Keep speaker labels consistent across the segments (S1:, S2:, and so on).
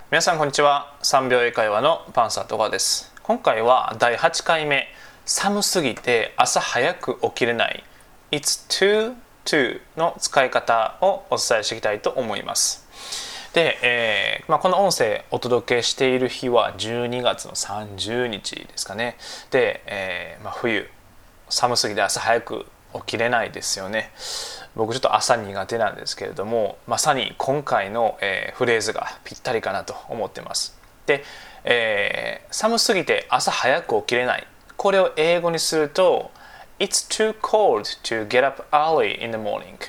S1: 皆さんこんにちは。3秒英会話のパンサー戸川です。今回は第8回目、寒すぎて朝早く起きれない It's too too の使い方をお伝えしていきたいと思います。で、この音声お届けしている日は12月の30日ですかね。で、冬寒すぎて朝早く起きれないですよね。僕ちょっと朝苦手なんですけれども、まさに今回の、フレーズがぴったりかなと思ってます。で、寒すぎて朝早く起きれない、これを英語にすると It's too cold to get up early in the morning.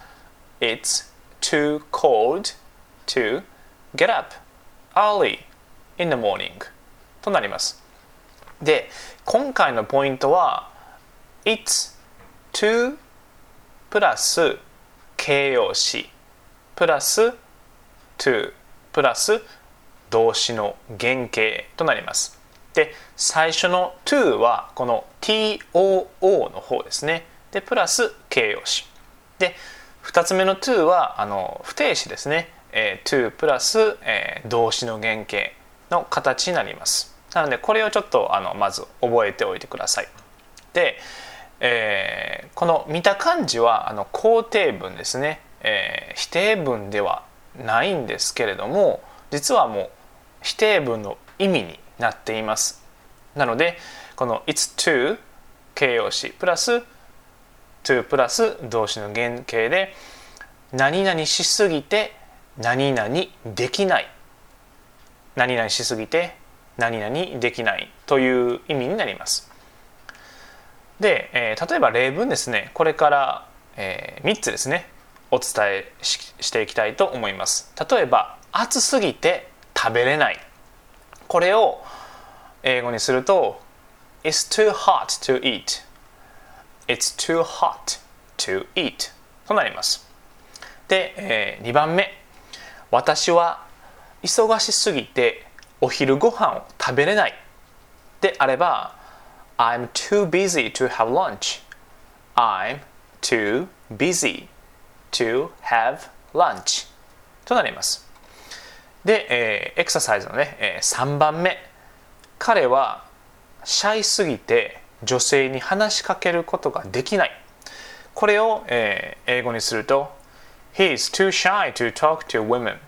S1: It's too cold to get up early in the morning となります。で、今回のポイントは It's too プラス形容詞プラス to プラス動詞の原型となります。で、最初の to はこの too の方ですね。で、プラス形容詞。で、2つ目の to は不定詞ですね。to プラス、動詞の原型の形になります。なのでこれをちょっとまず覚えておいてください。で、この見た感じは肯定文ですね、否定文ではないんですけれども、実はもう否定文の意味になっています。なのでこの It's too 形容詞プラス to プラス動詞の原型で何々しすぎて何々できない、何々しすぎて何々できないという意味になります。で、例えば例文ですね、これから、3つですねお伝えしていきたいと思います。例えば暑すぎて食べれない、これを英語にすると It's too hot to eat. It's too hot to eat となります。で、2番目、私は忙しすぎてお昼ご飯を食べれないであればI'm too busy to have lunch. I'm too busy to have lunch となります。で、エクササイズのね、3番目、彼はシャイすぎて女性に話しかけることができない、これを、英語にすると He is too shy to talk to women.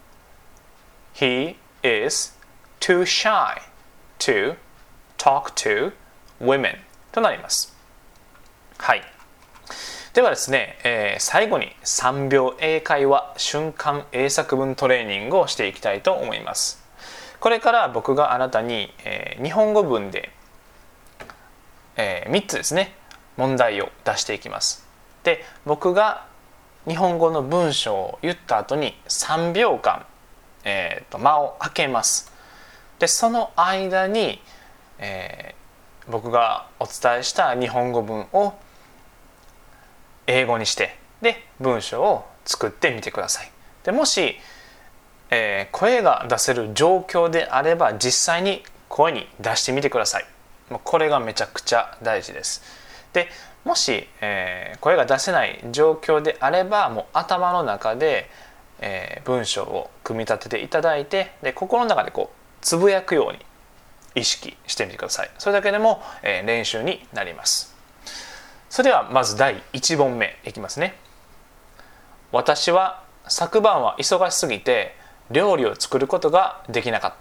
S1: He is too shy to talk to women となります。はい。ではですね、最後に3秒英会話瞬間英作文トレーニングをしていきたいと思います。これから僕があなたに、日本語文で、3つですね問題を出していきます。で、僕が日本語の文章を言った後に3秒間、間を空けます。で、その間に、僕がお伝えした日本語文を英語にしてで文章を作ってみてください。で、もし、声が出せる状況であれば実際に声に出してみてください。これがめちゃくちゃ大事です。で、もし、声が出せない状況であればもう頭の中で、文章を組み立てていただいて、で心の中でこうつぶやくように意識してみてください。それだけでも、練習になります。それではまず第1問目いきますね。私は昨晩は忙しすぎて料理を作ることができなかった。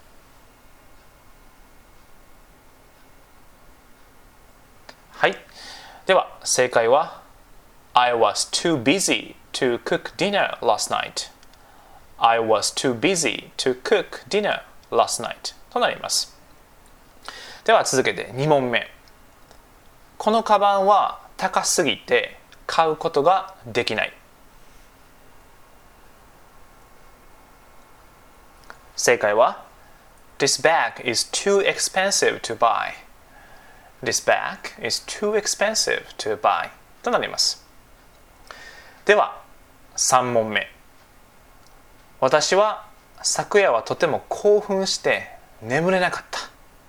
S1: はい。では正解は I was too busy to cook dinner last night. I was too busy to cook dinner last night となります。では続けて2問目。このカバンは高すぎて買うことができない。正解は This bag is too expensive to buy. This bag is too expensive to buy となります。では3問目。私は昨夜はとても興奮して眠れなかった。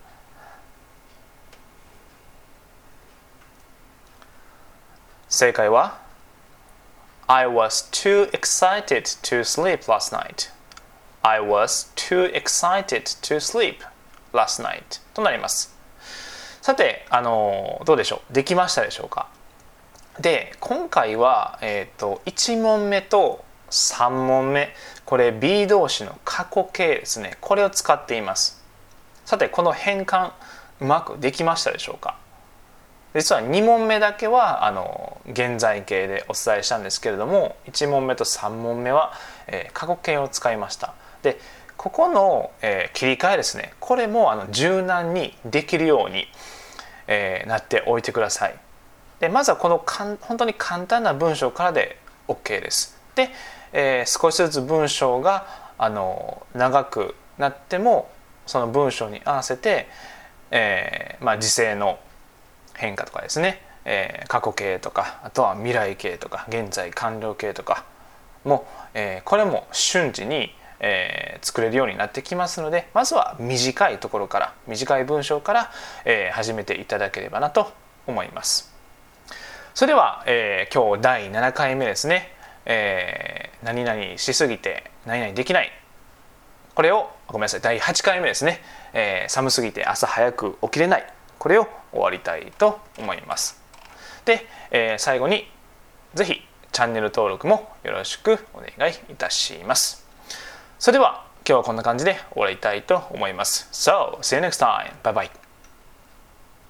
S1: 正解は I was too excited to sleep last night. I was too excited to sleep last night となります。さて、どうでしょう、できましたでしょうか。で、今回は、1問目と3問目、これ be 動詞の過去形ですね、これを使っています。さて、この変換うまくできましたでしょうか。実は2問目だけは現在形でお伝えしたんですけれども、1問目と3問目は、過去形を使いました。で、ここの、切り替えですね、これも柔軟にできるように、なっておいてください。で、まずはこの本当に簡単な文章からで OK です。で、少しずつ文章が長くなってもその文章に合わせて、時制の変化とかですね、過去形とか、あとは未来形とか現在完了形とかも、これも瞬時に、作れるようになってきますので、まずは短いところから、短い文章から、始めていただければなと思います。それでは、今日第7回目ですね、何々しすぎて何々できない、これをごめんなさい、第8回目ですね、寒すぎて朝早く起きれない、これを終わりたいと思います。で、最後にぜひチャンネル登録もよろしくお願いいたします。それでは今日はこんな感じで終わりたいと思います。So, see you next time. Bye bye.